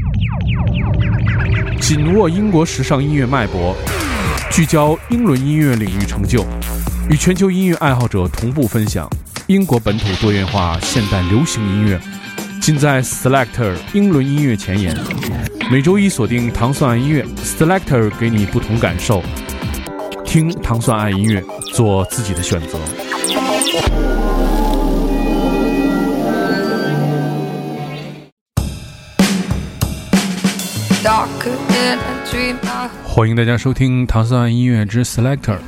紧握英国时尚音乐脉搏，聚焦英伦音乐领域成就，与全球音乐爱好者同步分享英国本土多元化现代流行音乐，尽在 Selector 英伦音乐前沿。每周一锁定糖蒜爱音乐 ，Selector 给你不同感受，听糖蒜爱音乐，做自己的选择。欢迎大家收听糖蒜音乐之 Selector。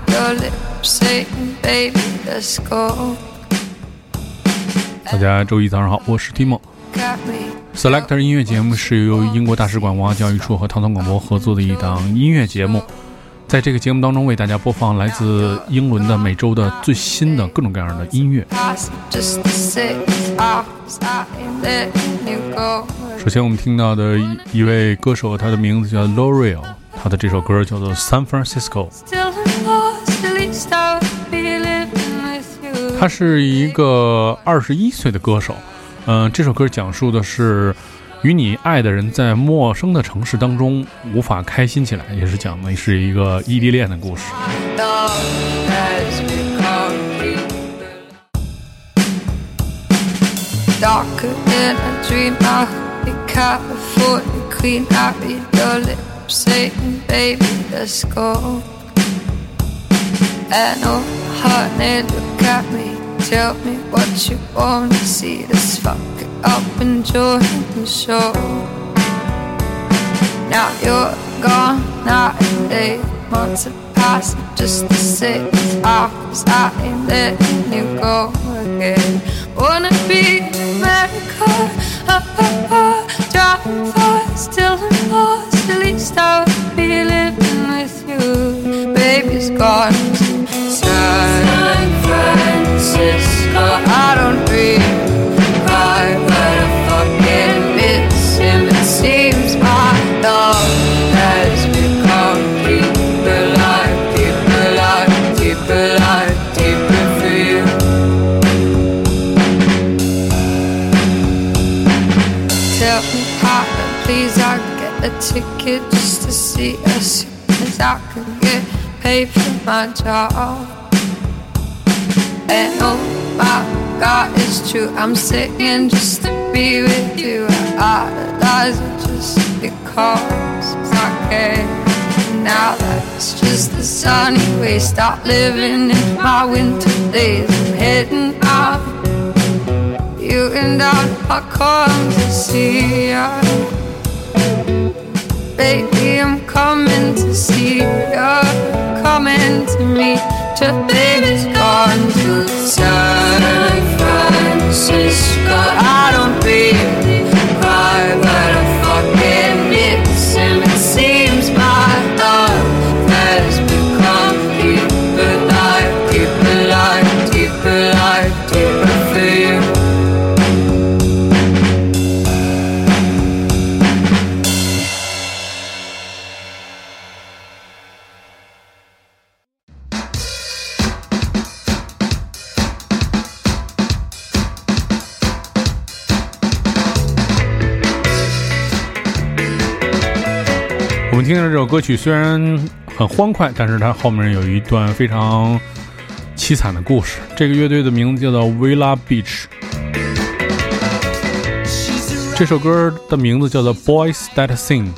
大家周一早上好，我是 Timo。Selector 音乐节目是由英国大使馆文化教育处和糖蒜广播合作的一档音乐节目。在这个节目当中，为大家播放来自英伦的每周的最新的各种各样的音乐。首先我们听到的一位歌手，他的名字叫 L'Oreal， 他的这首歌叫做 San Francisco。 他是一个21岁的歌手。这首歌讲述的是与你爱的人在陌生的城市当中无法开心起来，也是讲的是一个异地恋的故事。 Darker than a dream, I hope you can't afford the queen. I read your lips saying, baby, let's go. And oh, honey, look at me. Tell me what you want to see. Let's fuck it up and join the show. Now you're gone, night and day. Months have passed, just the 6 hours. I ain't letting you go again. Wanna be in America, driving fast, still in lost. At least I would be living with you. Baby's gone to San Francisco. I don't really cry, but I fucking miss him. It seems my love has become deeper, like deeper, like deeper, like deeper for you. Tell me how, please, I get a ticket just to see as soon as I can get paid for my job. And oh my God, it's true, I'm singing just to be with you. I idolize it just because I can. Now that it's just the sunny way, stop living in my winter days. I'm heading out, you and I come to see ya. Baby, I'm coming to see ya, coming to meet ya. Baby's gone to San Francisco. I don't really cry, but I fucking miss him. It seems my love has become deeper, like deeper, like deeper, like deeper for you. 我们听的这首歌曲虽然很欢快，但是它后面有一段非常凄惨的故事。这个乐队的名字叫做 Villa Beach， 这首歌的名字叫做 Boys That Sing。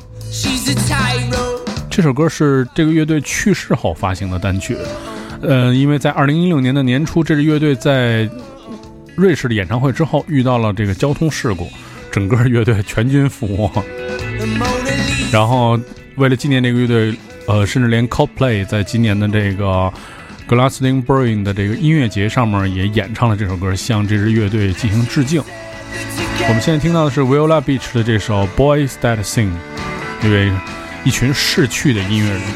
这首歌是这个乐队去世后发行的单曲。因为在2016年的年初，这支乐队在瑞士的演唱会之后遇到了这个交通事故，整个乐队全军覆没。然后为了纪念这个乐队，甚至连 Coldplay 在今年的这个 Glastonbury 的这个音乐节上面也演唱了这首歌，向这支乐队进行致敬。我们现在听到的是 Villa Beach 的这首 Boys That Sing， 因为一群逝去的音乐人。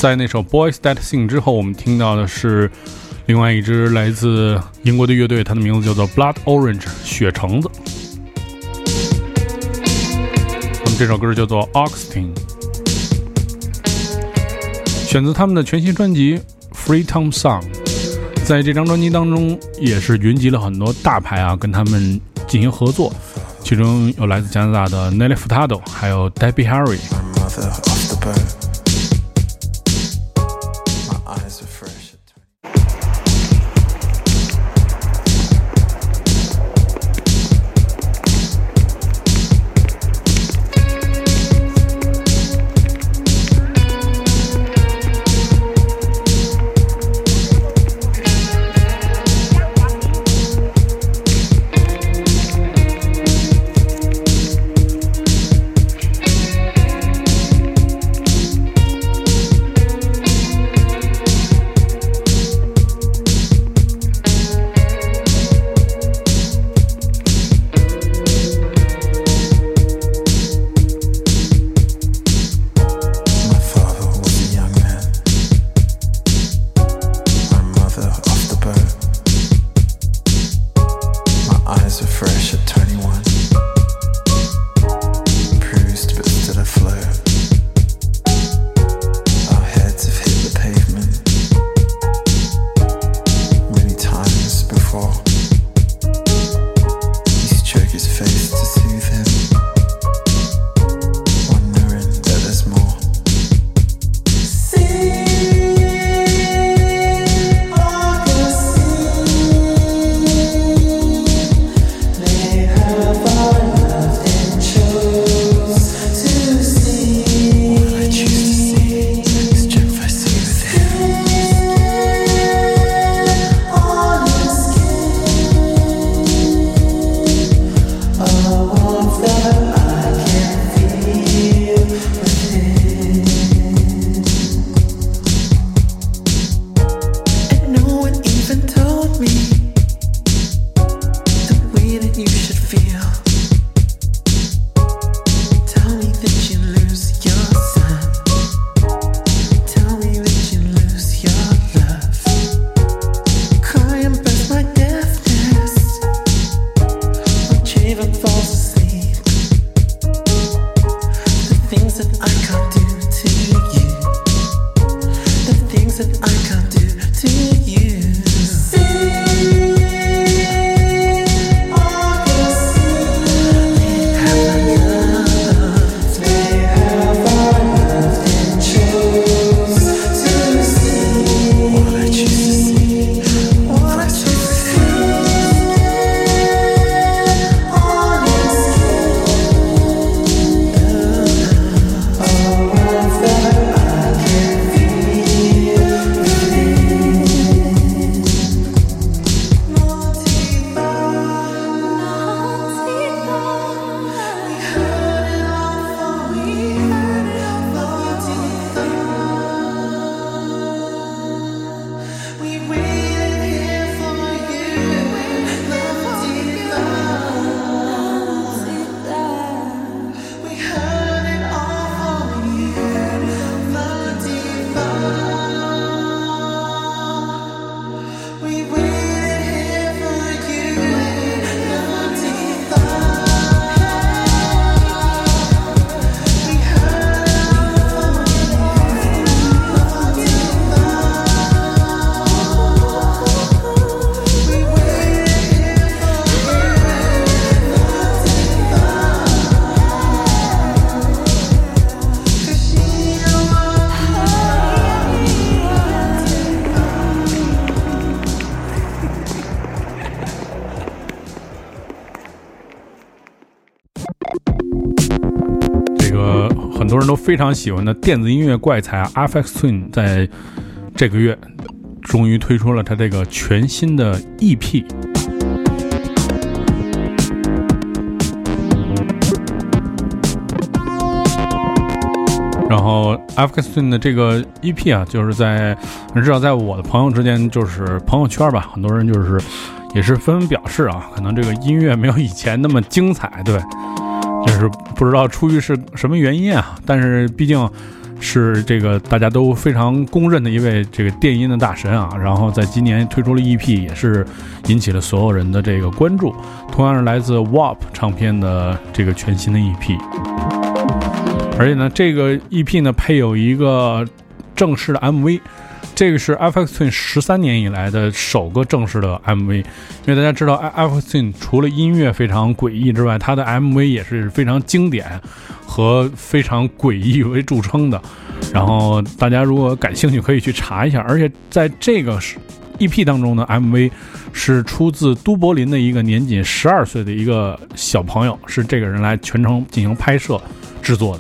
在那首 Boys That Sing 之后，我们听到的是另外一支来自英国的乐队，它的名字叫做 Blood Orange 血橙子。那么这首歌叫做 Oxting， 选自他们的全新专辑 Freetown Song。在这张专辑当中也是云集了很多大牌啊，跟他们进行合作，其中有来自加拿大的 Nelly Furtado， 还有 Debbie Harry。很多人都非常喜欢的电子音乐怪才Aphex Twin 在这个月终于推出了他这个全新的 EP。然后 Aphex Twin 的这个 EP 啊，就是至少在我的朋友之间，就是朋友圈吧，很多人就是也是纷纷表示啊，可能这个音乐没有以前那么精彩，对，就是不知道出于是什么原因啊，但是毕竟是这个大家都非常公认的一位这个电音的大神啊，然后在今年推出了 EP， 也是引起了所有人的这个关注。同样是来自 WAP 唱片的这个全新的 EP， 而且呢，这个 EP 呢配有一个正式的 MV。这个是 Aphex Twin 13年以来的首个正式的 MV， 因为大家知道 Aphex Twin 除了音乐非常诡异之外，它的 MV 也是非常经典和非常诡异为著称的。然后大家如果感兴趣可以去查一下，而且在这个 EP 当中的 MV 是出自都柏林的一个年仅12岁的一个小朋友，是这个人来全程进行拍摄制作的。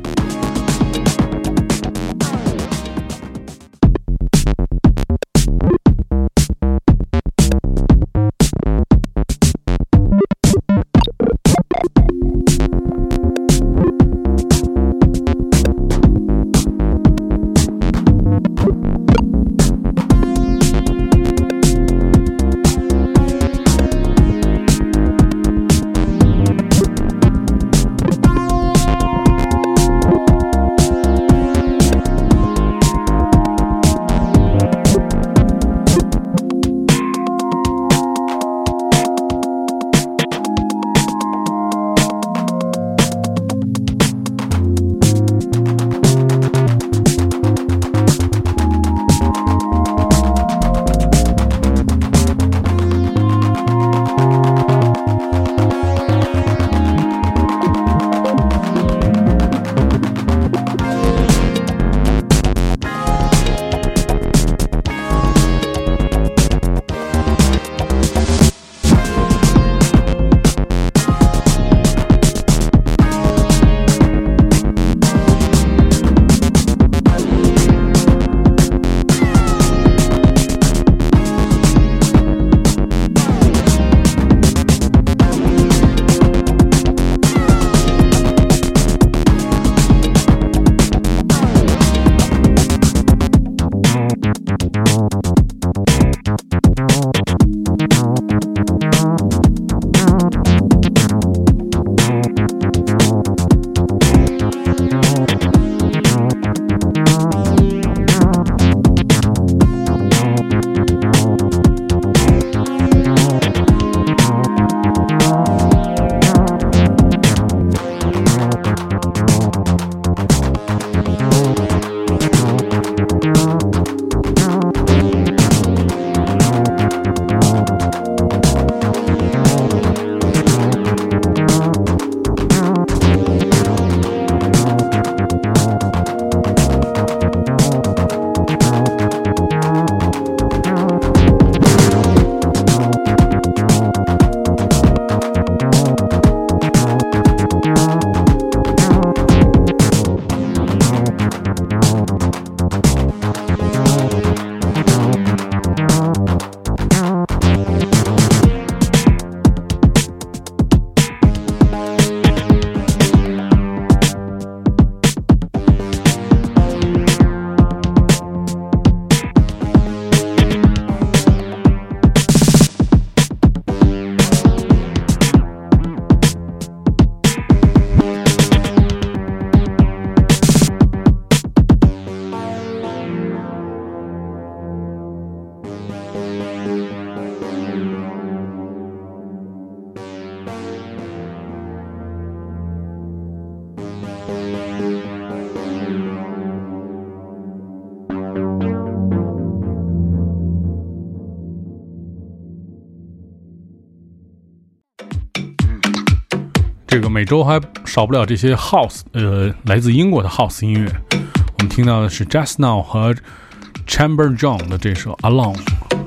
这个每周还少不了这些 House， 来自英国的 House 音乐。我们听到的是 Just Now 和 Chamber John 的这首 Alone，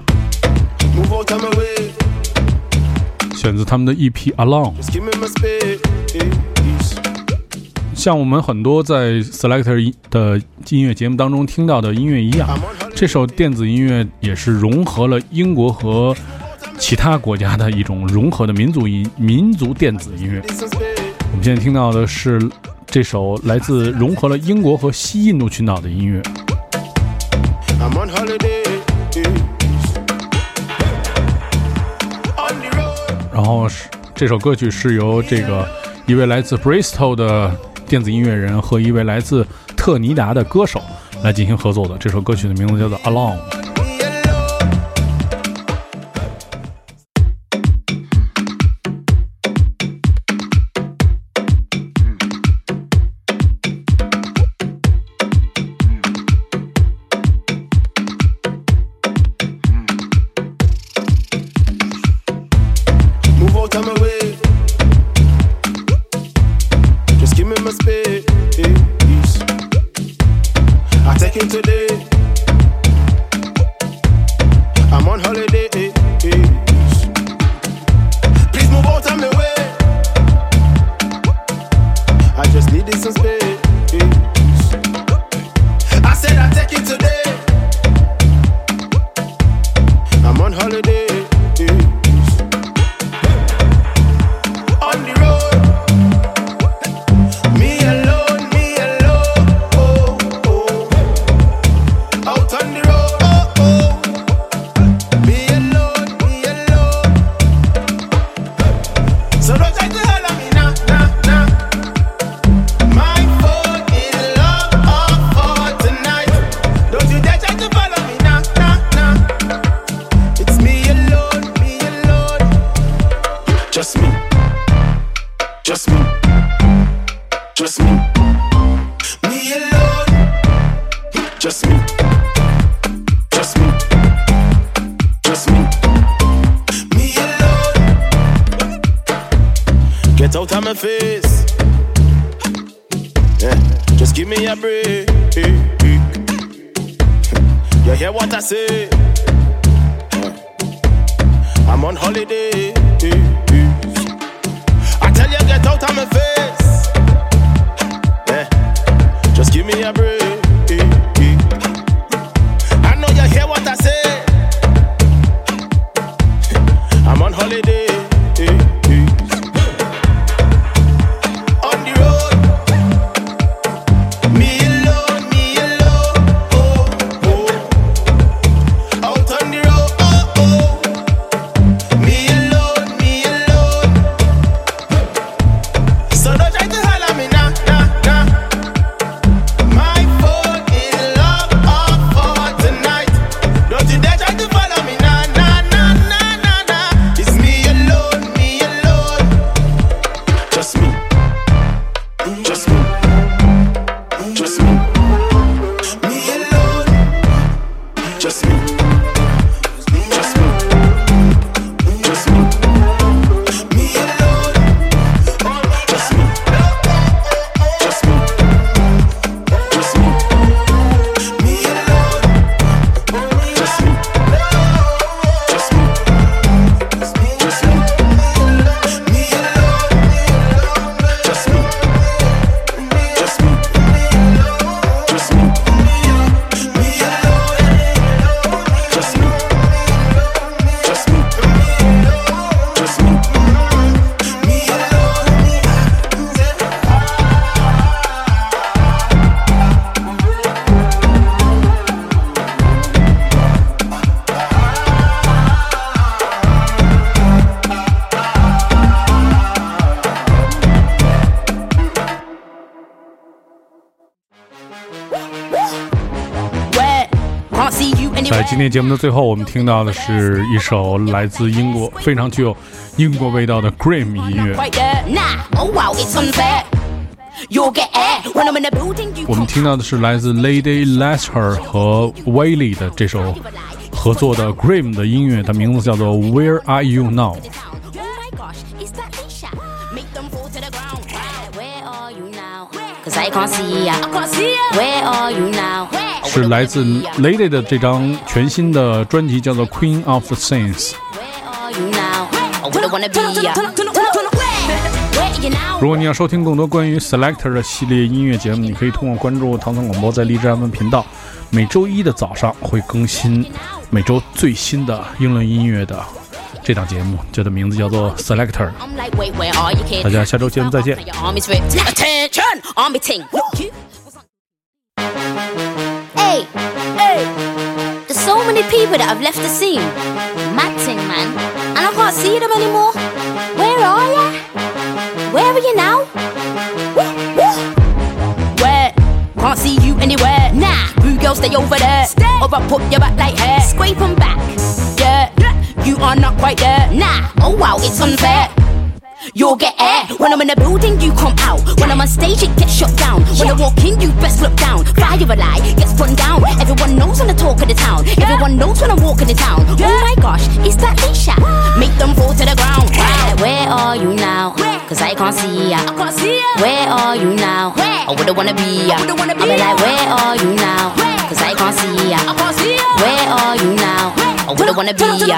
选自他们的 EP Alone。像我们很多在 Selector 的音乐节目当中听到的音乐一样，这首电子音乐也是融合了英国和其他国家的一种融合的民族电子音乐。我们现在听到的是这首来自融合了英国和西印度群岛的音乐。然后这首歌曲是由这个一位来自 Bristol 的电子音乐人和一位来自特尼达的歌手来进行合作的。这首歌曲的名字叫做 Alone。Get out of my face, yeah. Just give me a break. You hear what I say? I'm on holiday. I tell you, get out of my face, yeah. Just give me a break. I know you hear what I say. I'm on holiday. 在今天节目的最后，我们听到的是一首来自英国非常具有英国味道的 Grime 音乐。我们听到的是来自 Lady Lester 和 Wayley 的这首合作的 Grime 的音乐，它名字叫做 Where Are You Now。是来自 Lady 的这张全新的专辑，叫做 Queen of the Saints。如果你要收听更多关于 Selector 的系列音乐节目，你可以通过关注唐宋广播在荔枝 FM 频道，每周一的早上会更新每周最新的英伦音乐的这档节目，它的名字叫做 Selector。 大家下周节目再见。 Hey, there's so many people that have left the scene. Mad thing, man. And I can't see them anymore. Where are ya? Where are you now? Woo, woo. can't see you anywhere. Nah, boo girl, stay over there. Or I put your back like hair. Scrape 'em back. Yeah, you are not quite there. Nah, oh wow, it's unfair. You'll get air. When I'm in the building, you come out. When I'm on stage, it gets shut down. When I walk in, you best look down. Fire a lie, gets run down. Everyone knows I'm the talk of the town. Everyone knows when I'm walking the town. Oh my gosh, it's that Leisha. Make them fall to the ground. Where are you now? Cause I can't see ya. Where are you now? I wouldn't wanna be ya. I'll be like, where are you now? Cause I can't see ya. Where are you now? I wouldn't wanna be ya.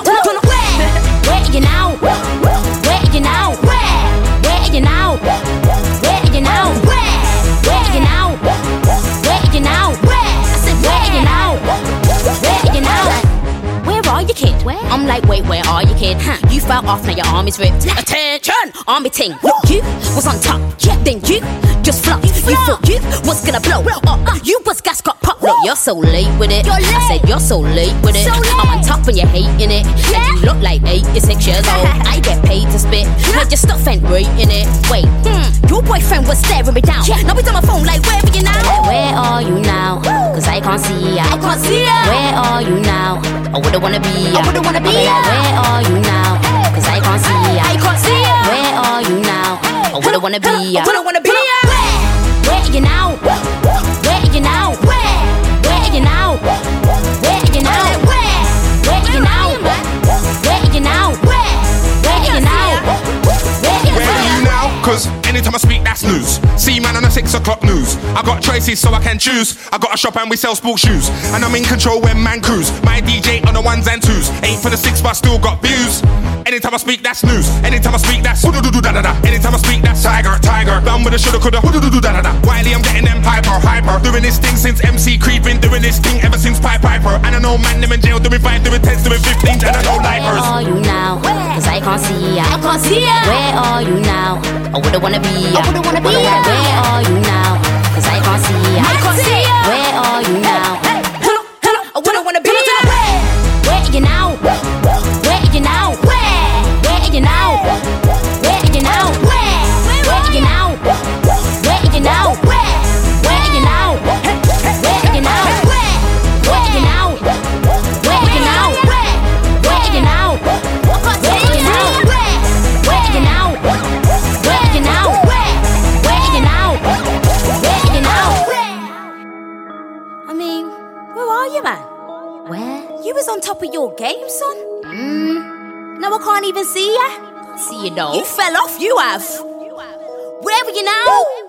Where are you now? Where are you now? Where are you now? Where are you now? Where are you now? Where are you now? I said, Where are you now? Where are you now? Where are you, kid? Where? I'm like, wait, where are you, kid? You fell off, now your arm is ripped. Attention, army ting. Look, you was on top, then you just flopped. You thought you was gonna blow. You was gas got popped. Look, you're so late with it. I said you're so late with it. I'm on top and you're hating it. And you look like 86 years old. I get paid to spit. Heard your stuff ain't right in it. Wait, your boyfriend was staring me down. Now he's on my phone like, where are you now? Where are you now? Cause I can't see ya. I can't see ya. Where are you now? I wouldn't wanna be ya. I wouldn't wanna be I'll ya. like, where are you now? Cause I can't see ya. I can't see ya. Where are you now? I wouldn't wanna be ya. I wouldn't wanna be ya. Where are you now? Where are you now? Where are you now? Where are you now? Where are you now? Where are you now? Where are you now? Where Where are you now? Cause anytime I speak, that's news. See man on the 6 o'clock news. I got choices so I can choose. I got a shop and we sell sports shoes. And I'm in control when man cruise. My DJ on the 1s and 2s. Ain't for the 6 but still got views. Anytime I speak, that's news. Anytime I speak, that's da-da-da. Anytime I speak, that's tiger. Done with the shoulda, coulda, da-da-da. Wiley, I'm getting them hyper. Doing this thing since MC Creed. Been doing this thing ever since Piper. And I know man, them in jail, doing 5, doing 10s, doing 15s. And I know Where lifers. are you now? Cause I can't see ya. I can't see ya. Where are you now? I wouldn't wanna be ya. I wouldn't wanna be I'll ya. like, where are you now? Cause I can't see ya. I can't see ya. Where are you now? Hello, I wouldn't wanna be ya. Where are you now? Where are you now? Where are you now? Where are you now? Where are you now? Where are you now? Where are you now? Where are you now? Where are you now? Where are you now? Where are you now? Where are you now? Where are you now? Where are you now? Where are you now? Where are you now? I mean, where are you, man? Where? You was on top of your game, son. Now I can't even see ya. See you though. You fell off, you have. Where are you now?